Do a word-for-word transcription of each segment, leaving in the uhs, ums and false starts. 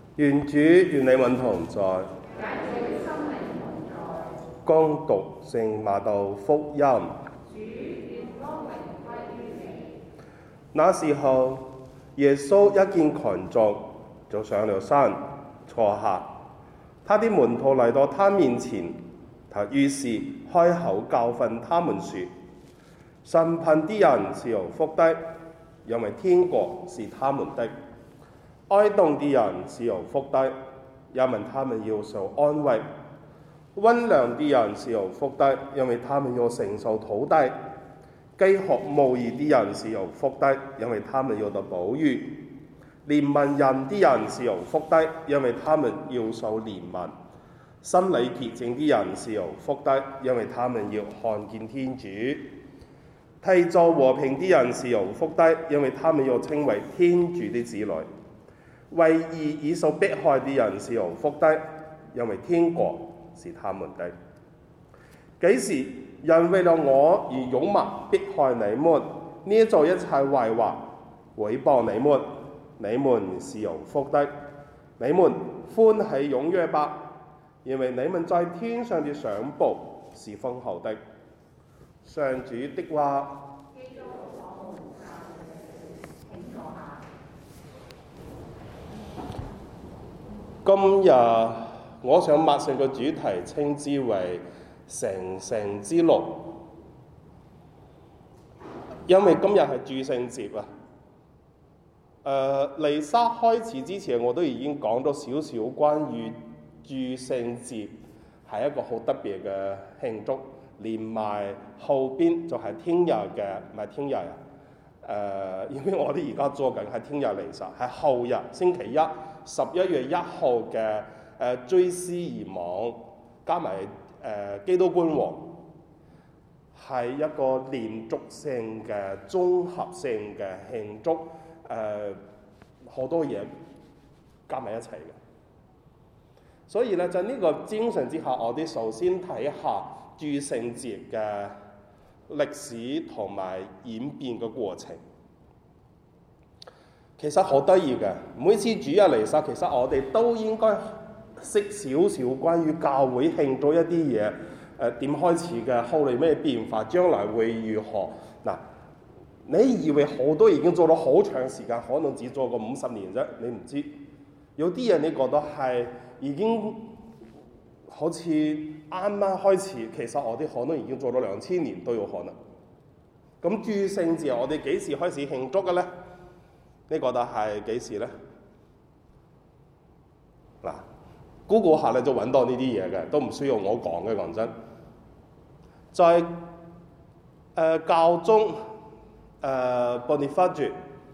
願主與你們同在。恭讀聖瑪竇福音。那時候，耶穌一見群眾，就上了山坐下。他的門徒來到他面前，他於是開口教訓他們說：神貧的人是有福的，因為天國是他們的；哀慟的人是有福的，因為他們要受安慰；溫良的人是有福的，因為他們要承受土地；飢渴慕義的人是有福的，因為他們要得飽飫；憐憫人的人是有福的，因為他們要受憐憫；心裏潔淨的人是有福的，因為他們要看見天主；締造和平的人是有福的，因為他們要稱為天主的子女；為義而受迫害的人是有福的，因為天國是他們的。幾時人為了我而勇猛迫害你們，捏造一切壞話，毀謗你們，你們是有福的。你們歡喜踴躍吧，因為你們在天上的賞報是豐厚的。上主的話。今日我想默想嘅主題稱之為成聖之路，因為今日係諸聖節啊。誒、呃，彌撒開始之前，我都已經講咗少少關於諸聖節係一個好特別嘅慶祝，連埋後邊就係聽日嘅，唔係聽日啊。誒、呃，因為我哋而家做緊係聽日彌撒，係後日星期一十一月一號嘅誒追思而亡，加埋誒、呃、基督君王，係一個連續性嘅綜合性嘅慶祝，誒、呃、好多嘢加埋一齊嘅。所以咧，就呢個精神之下，我哋首先睇下諸聖節嘅歷史同埋演變嘅過程。其實好得意嘅，每次主日彌撒，其實我哋都應該識少少關於教會慶祝一啲嘢，誒點開始嘅，後嚟咩變化，將來會如何？嗱，你以為好多已經做咗好長時間，可能只做過五十年啫，你唔知。有啲人你覺得係已經好似啱啱開始，其實我哋可能已經做咗兩千年都有可能。咁諸聖節我哋幾時開始慶祝嘅咧？你覺得係幾時咧？嗱，Google 下你就揾到呢啲嘢嘅，都唔需要我講嘅，講真。在誒、呃、教宗誒 Boniface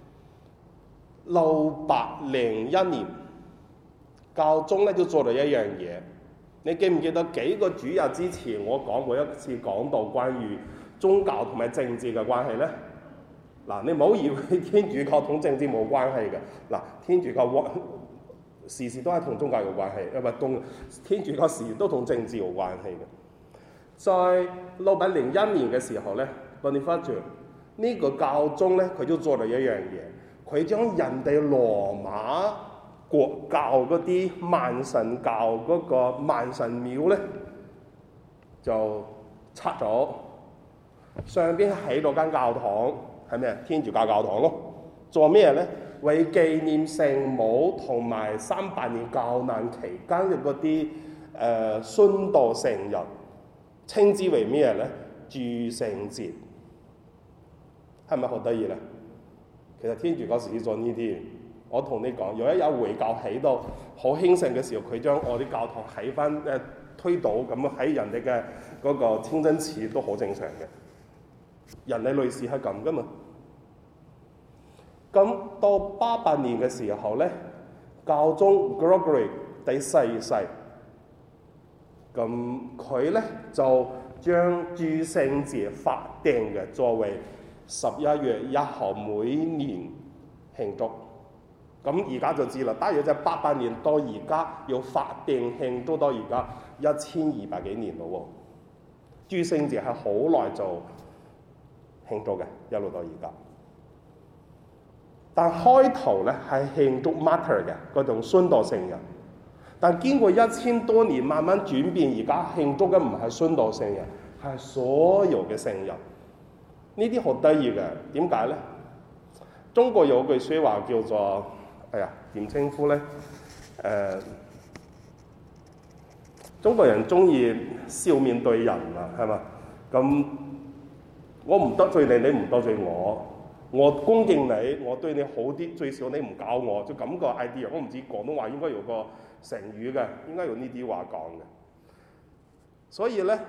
六百零一年，教宗咧都做咗一樣嘢。你記唔記得幾個主日之前我講過一次講到關於宗教同埋政治嘅關係咧？嗱，你唔好以為天主教同政治冇關係嘅。嗱，天主教時時都係同宗教有關係，因為同天主教時時都同政治有關係嘅。在六百零一年嘅時候咧 Boniface 呢個教宗咧，佢都做咗一樣嘢，佢將人哋羅馬國教嗰啲萬神教嗰個萬神廟咧，就拆咗，上邊起咗間教堂。係咩？天主教教堂咯。做咩咧？為紀念聖母同埋三百年教難期間嘅嗰啲誒殉道聖人，稱之為咩咧？諸聖節。係咪好得意咧？其實天主教時時做呢啲。我同你講，有一日回教起到好興盛嘅時候，佢將我啲教堂起翻誒推倒，咁喺人哋嘅嗰個清真寺都好正常嘅。人類類似係咁噶嘛？咁到八八年嘅時候咧，教宗 Gregory 第四世，咁佢咧就將諸聖節法定嘅作為十一月一號每年慶祝。咁而家就知啦，大約就係八八年到而家要法定慶祝到而家一千二百幾年咯喎。諸聖節係好耐就慶祝嘅，一路到而家。 但開頭咧係慶祝 martyr 嘅嗰種殉道聖人，但經過一千多年慢慢轉變，而家慶祝嘅唔係殉道聖人，係所有嘅聖人。呢啲好得意嘅，點解咧？中國有句説話叫做，哎呀點稱呼咧？誒、呃，中國人中意笑面對人啊，係嘛？咁我唔得罪你，你唔得罪我。我恭敬你，我對你好啲，最少你唔搞我，就咁個 idea。我唔知廣東話應該有個成語嘅，應該用呢啲話講嘅。所以咧，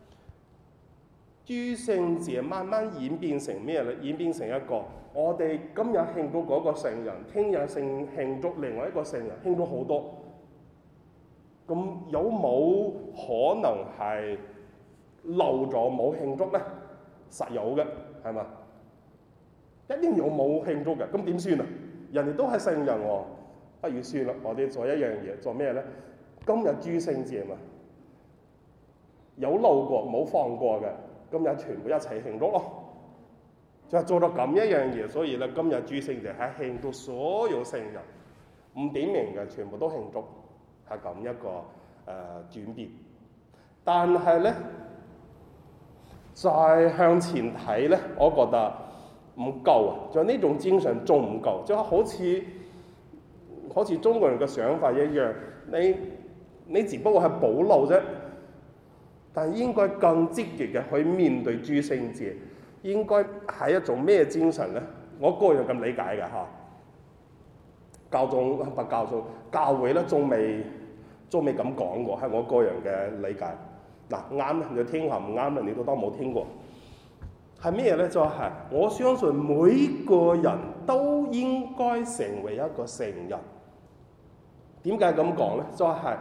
諸聖節慢慢演變成咩咧？演變成一個，我哋今日慶祝嗰個聖人，聽日聖慶祝另外一個聖人，慶祝好多。咁有冇可能係漏咗冇慶祝咧？實有嘅，係嘛？一定有冇慶祝嘅，咁點算啊？人哋都係聖人喎，不如算啦，我哋做一樣嘢，做咩咧？今日諸聖節嘛，有漏過冇放過嘅，今日全部一齊慶祝咯。就係做到咁一樣嘢，所以咧今日諸聖節係慶祝所有聖人，唔點名嘅全部都慶祝，係咁一個誒、呃、轉變。但係咧，再向前睇咧，我覺得唔夠啊！就呢種精神仲唔夠，就好似好似中國人嘅想法一樣，你你只不過係保留啫，但係應該更積極嘅去面對諸聖節，應該係一種咩精神咧？我個人咁理解嘅嚇，教宗不教宗教會咧，仲未仲未咁講過，係我個人嘅理解。嗱啱咧，你聽下；唔啱咧，你都當冇聽過。係咩咧？就係、是、我相信每個人都應該成為一個聖人。點解咁講咧？就係、是、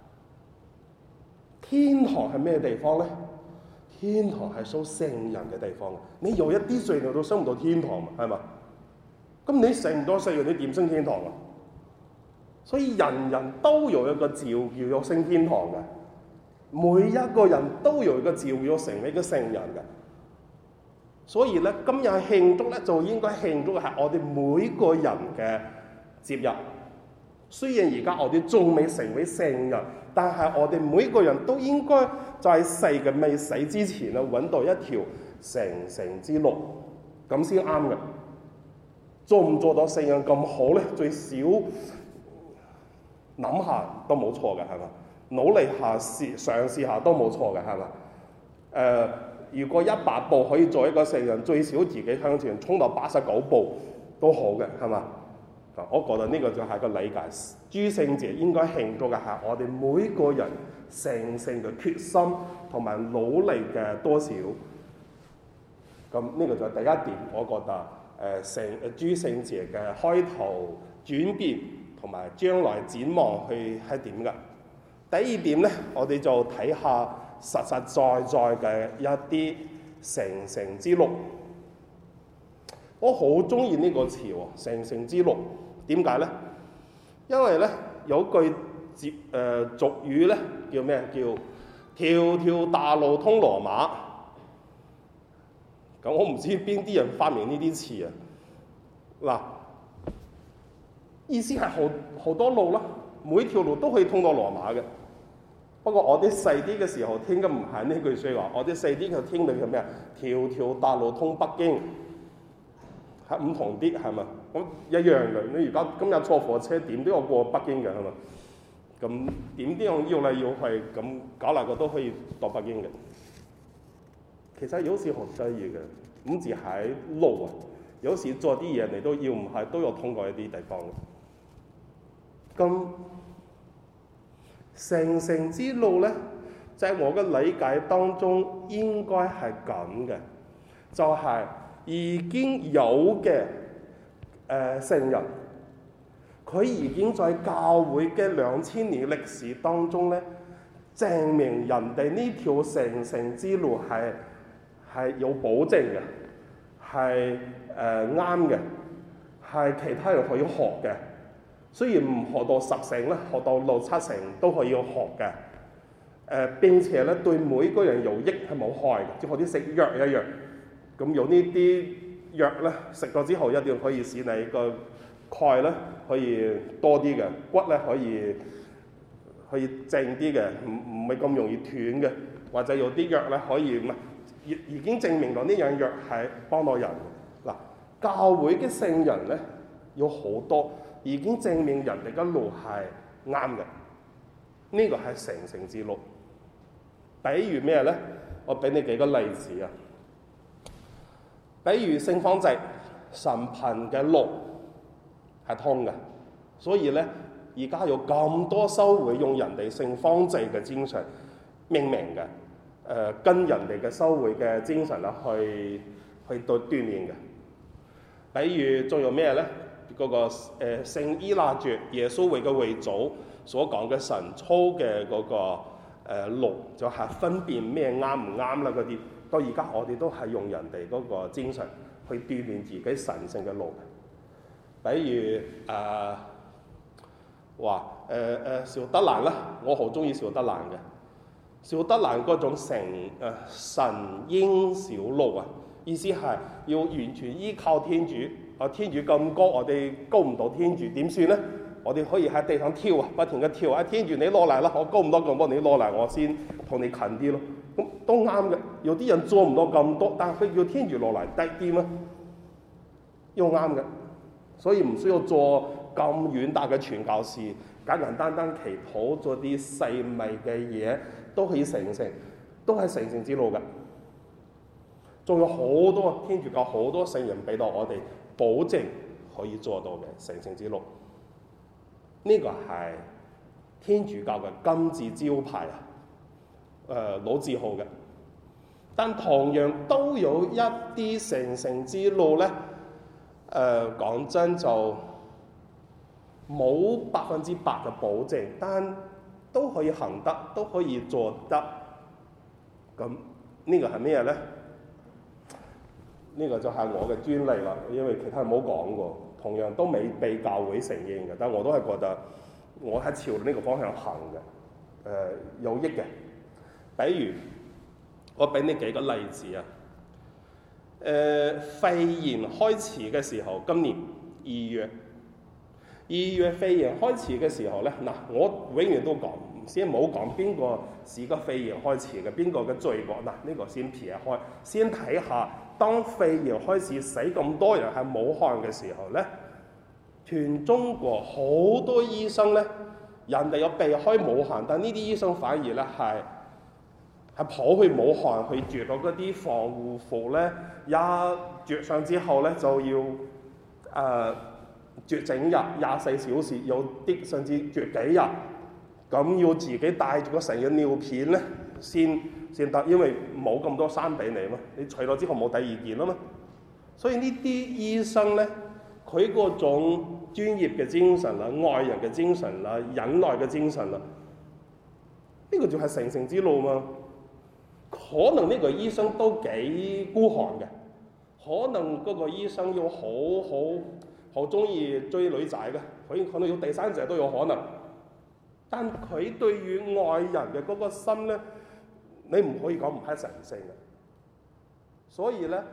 天堂係咩地方咧？天堂係屬聖人嘅地方。你有一啲罪你都升唔到天堂嘛？係嘛？咁你成唔到聖人，你點升天堂啊？所以人人都有一個召叫要升天堂嘅，每一個人都有一個召要成為一個聖人嘅。所以咧，今日慶祝咧，就應該慶祝係我哋每個人嘅節日。雖然而家我哋仲未成為聖人，但係我哋每個人都應該在世嘅未死之前啊，揾到一條成聖之路，咁先啱嘅。做唔做到聖人咁好咧？最少諗下都冇錯嘅，係嘛？努力下試嘗試下都冇錯嘅，係嘛？誒、呃。如果一百步可以做一個聖人，最少自己向前衝到八十九步都好嘅，係嘛？我覺得呢個就係個理解。諸聖節應該慶祝嘅係我哋每個人成聖嘅決心同埋努力嘅多少。咁呢個就係第一點，我覺得誒聖誒諸聖節嘅開頭轉變同埋將來展望去係點㗎？第二點咧，我哋就睇下實實在在嘅一啲成聖之路。我好中意呢個詞喎，成聖之路。點解咧？因為咧有句節誒俗語咧叫咩？叫條條大路通羅馬。咁我唔知邊啲人發明呢啲詞啊。嗱，意思係好好多路啦，每條路都可以通到羅馬嘅。不過我啲細啲嘅時候聽嘅唔係呢句説話，我啲細啲嘅聽到係咩啊？條條大路通北京，係唔同啲係嘛？咁一樣嘅。你而家今日坐火車點都要過北京嘅係嘛？咁點都要要嚟要去，咁搞嚟個都可以到北京嘅。其實有時好得意嘅，唔止喺路啊，有時做啲嘢你都要唔係都要通過一啲地方嘅。咁成聖之路咧，在、就係、我嘅理解當中應該係咁嘅，就係、係、已經有嘅誒、呃、聖人，佢已經在教會嘅兩千年歷史當中咧，證明人哋呢條成聖之路係係有保證嘅，係誒啱嘅，係其他人可以學嘅。雖然唔學到十成咧，學到六七成都可以學嘅。誒、呃、並且咧對每個人有益係冇害嘅，即係好似食藥一樣。咁有呢啲藥咧食咗之後一定可以使你個鈣咧可以多啲嘅，骨咧可以可以正啲嘅，唔唔係咁容易斷嘅，或者有啲藥咧可以唔係已已經證明咗呢樣藥係幫到人。嗱，教會嘅聖人咧有好多已經證明人哋嘅路係啱嘅，呢個係成聖之路。比如咩咧？我俾你幾個例子啊。比如聖方濟神貧嘅路係通嘅，所以咧而家有咁多修會用人哋聖方濟嘅精神命名嘅，誒、呃、跟人哋嘅修會嘅精神啦去去到鍛鍊嘅。比如仲有咩咧？嗰、那個誒、呃、聖依納爵耶穌會嘅會祖所講嘅神操嘅嗰、那個。誒路、呃、就係分辨咩啱唔啱啦，嗰啲到而家我哋都係用人哋嗰個精神去鍛鍊自己神聖嘅路。比如誒話誒誒邵德蘭啦，我好中意邵德蘭嘅。邵德蘭嗰種成誒、呃、神嬰小路啊，意思係要完全依靠天主。啊，天主咁高，我哋高唔到天主，點算咧？我哋可以喺地上跳啊，不停嘅跳啊！天主你攞嚟啦，我高唔多咁多，你攞嚟我先同你近啲咯。咁都啱嘅。有啲人做唔到咁多，但係佢叫天主落嚟低啲咩？又啱嘅。所以唔需要做咁遠大嘅傳教士，簡簡單單祈禱做啲細微嘅嘢都可以成聖，都係成聖之路嘅。仲有好多天主教好多聖人俾到我哋保證可以做到嘅成聖之路。呢個係天主教嘅金字招牌啊，誒、呃、老字號嘅。但同樣都有一啲成聖之路咧，誒、呃、講真就冇百分之百嘅保證，但都可以行得，都可以做得。咁呢個係咩咧？呢個就係我嘅專利啦，因為其他人冇講過。同樣都未被教會承認嘅，但我都係覺得我係朝呢個方向行嘅，誒、呃、有益嘅。比如我俾你幾個例子啊，誒、呃、肺炎開始嘅時候，今年二月，二月肺炎開始嘅時候咧，嗱我永遠都講，先冇講邊個是個肺炎開始嘅，邊個嘅罪過，嗱呢、這個先撇開，先睇下。當肺炎開始死咁多人喺武漢嘅時候咧，全中國好多醫生咧，人哋有避開武漢，但呢啲醫生反而咧係係跑去武漢去着到嗰啲防護服咧，一着上之後咧就要誒着整日廿四小時，有啲甚至着幾日，咁要自己帶住個成日尿片咧先。先得，因為冇咁多衫俾你嘛，你除咗之後冇第二件啊嘛，所以呢啲醫生咧，佢嗰種專業嘅精神啦、愛人嘅精神啦、忍耐嘅精神啦，呢個就係成聖之路嘛。可能呢個醫生都幾孤寒嘅，可能嗰個醫生要好好好中意追女仔嘅，佢可能要第三者都有可能，但佢對於愛人嘅嗰個心咧。你唔可以講唔係神聖嘅，所以咧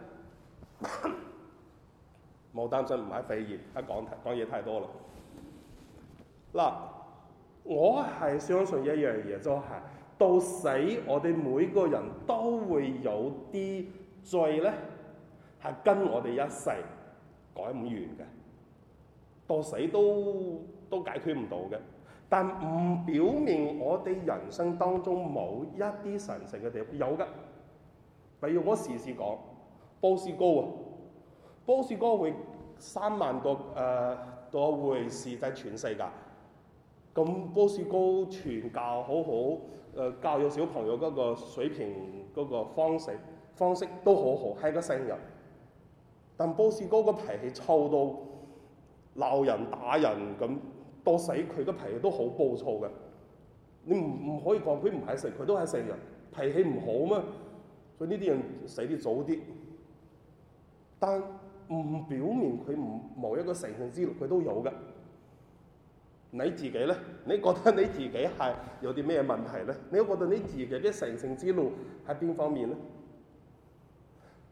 冇擔心唔係肺炎，一講講嘢太多啦。嗱，我係相信一樣嘢，就係、是、到死我哋每個人都會有啲罪咧，係跟我哋一世改唔完嘅，到死都都解決唔到嘅。但唔表明我哋人生當中冇一啲神聖嘅地方，有嘅。比如我時時講波斯高啊，波斯高會三萬個誒個會士喺全世界，咁波斯高傳教好好，誒、呃、教育小朋友嗰個水平嗰個方式方式都好好，係個聖人。但波斯高個脾氣臭到鬧人打人咁。到死佢個脾氣都好暴躁嘅，你唔唔可以講佢唔係聖，佢都係聖人，脾氣唔好嘛，所以呢啲人死啲早啲。但唔表明佢唔冇一個成聖之路，佢都有嘅。你自己咧，你覺得你自己係有啲咩問題咧？你覺得你自己嘅成聖之路喺邊方面咧？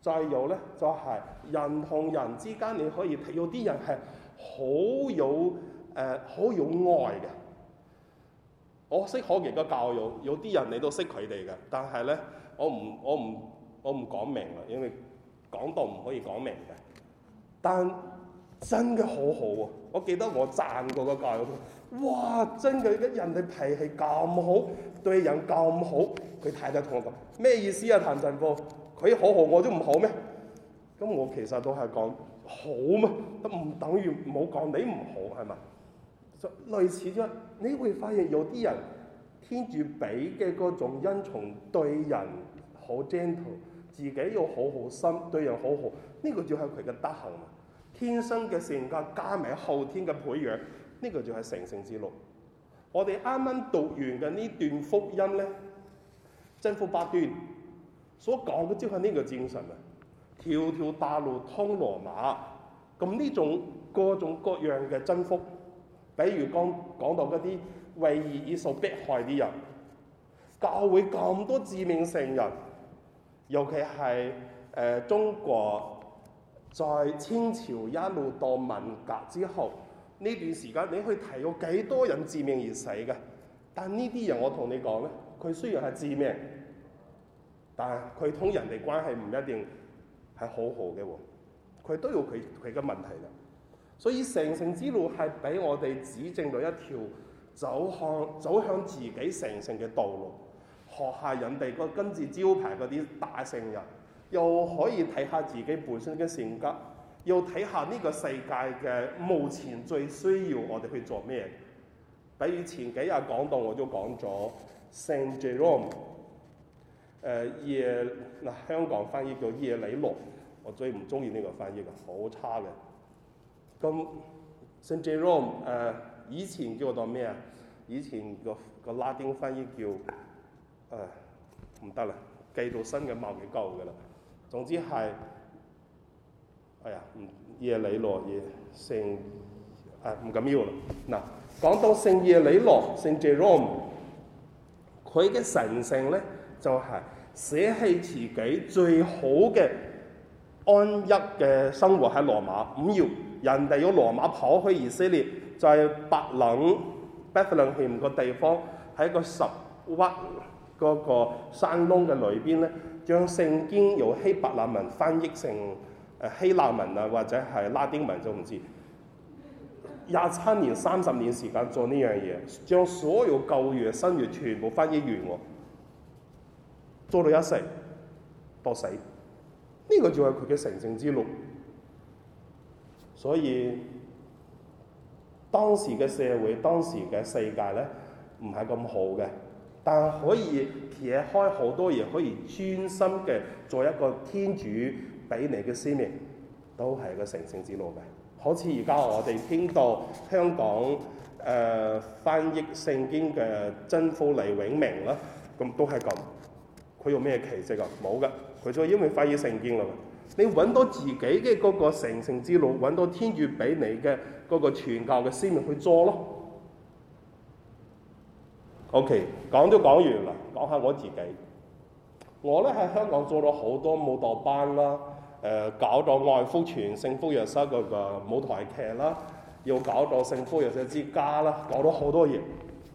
再有咧就係、是、人同人之間，你可以睇有啲人係好有誒好、呃、有愛嘅。我識好幾個教友，有啲人你都識佢哋嘅，但係咧我唔我唔我唔講明啦，因為講道唔可以講明嘅。但真嘅好好啊！我記得我讚過個教友，哇！真嘅人哋脾氣咁好，對人咁好，佢太太同我講咩意思啊？譚振波，佢好好我都唔好咩？咁我其實都係講好嘛，都唔等於冇講你唔好係嘛？就類似咗，你會發現有啲人天主俾嘅嗰種恩寵，對人好 gentle， 自己又好好心，對人好好，呢、這個就係佢嘅德行嘛。天生嘅性格加埋後天嘅培養，呢、這個就係成聖之路。我哋啱啱讀完嘅呢段福音咧，真福八端所講嘅就係呢個精神啊！條條大路通羅馬，咁呢種各種各樣嘅真福，比如講講到嗰啲為義而受迫害啲人，教會咁多致命聖人，尤其係誒、呃、中國。在清朝一路到文革之後呢段時間，你去睇有幾多人致命而死嘅？但呢啲人我同你講咧，佢雖然係致命，但係佢同人哋關係唔一定係好好嘅喎，佢都有佢佢嘅問題嘅。所以成聖之路係俾我哋指正到一條走向走向自己成聖嘅道路，學下人哋個跟住招牌嗰啲大聖人。又可以睇下自己本身嘅性格，又睇下呢個世界嘅目前最需要我哋去做咩。比如前幾日講到我都講咗聖 Jerome， 誒耶嗱香港翻譯叫耶里洛，我最唔中意呢個翻譯嘅，好差嘅。咁聖 Jerome 誒以前叫做咩啊？以前個個拉丁翻譯叫誒唔得啦，記到新嘅貌幾舊嘅啦。總之係，哎呀，唔耶里洛耶聖，誒唔緊要啦。嗱，講到聖耶里洛聖 Jerome， 佢嘅神聖咧就係、是、捨棄自己最好嘅安逸嘅生活喺羅馬，唔要人哋要羅馬跑去以色列，就係伯冷 Bethlehem 個地方喺個十屈嗰個山窿嘅裏邊咧。將聖經由希伯來文翻譯成誒希臘文啊，或者係拉丁文就唔知。廿七年、三十年時間做呢樣嘢，將所有舊約、新約全部翻譯完喎，做到一世到死。呢、這個就係佢嘅成聖之路。所以當時嘅社會、當時嘅世界咧，唔係咁好嘅。但可以撇開好多嘢，可以專心嘅做一個天主俾你嘅使命，都係個成聖之路嘅。好似而家我哋聽到香港誒、呃、翻譯聖經嘅真福黎永明啦，咁都係咁。佢有咩奇蹟啊？冇嘅，佢就因為翻譯聖經啦。你揾到自己嘅嗰個成聖之路，揾到天主俾你嘅嗰個傳教嘅使命去做咯。OK， 講都講完啦，講下我自己。我咧喺香港做咗好多舞蹈班啦，誒、呃、搞咗愛福傳聖福若瑟嗰個舞台劇啦，又搞咗聖福若瑟之家啦，搞咗好多嘢。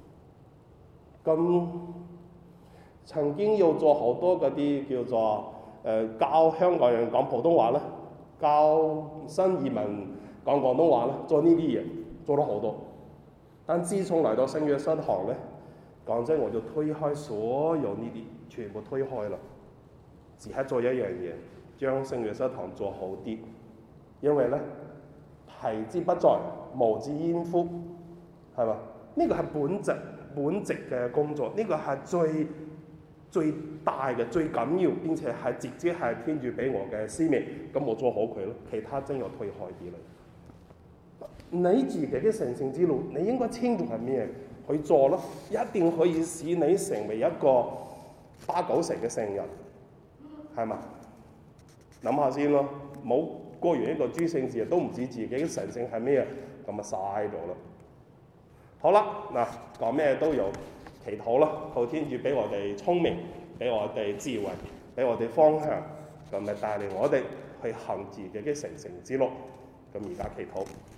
咁曾經又做好多嗰啲叫做誒、呃、教香港人講普通話啦，教新移民講廣東話啦，做呢啲嘢做咗好多。但自從嚟到聖若瑟堂咧，講真，我就推開所有呢啲，全部推開啦。只係做一樣嘢，將聖若瑟堂做好啲。因為咧，提之不在，無之焉乎，係嘛？呢、這個係本質本職嘅工作，呢、這個係最最大嘅、最緊要，並且係直接係天主俾我嘅使命。咁我做好佢咯，其他真要推開啲啦。你自己嘅成聖之路，你應該清楚係咩？去做咯，一定可以使你成為一個八九成嘅聖人，係嘛？諗下先咯，冇過完一個諸聖節都唔知自己嘅神聖係咩，咁啊嘥咗啦。好啦，嗱，講咩都有祈禱啦，求天主俾我哋聰明，俾我哋智慧，俾我哋方向， 咁咪帶領我哋去行自己嘅成聖之路。咁而家祈禱。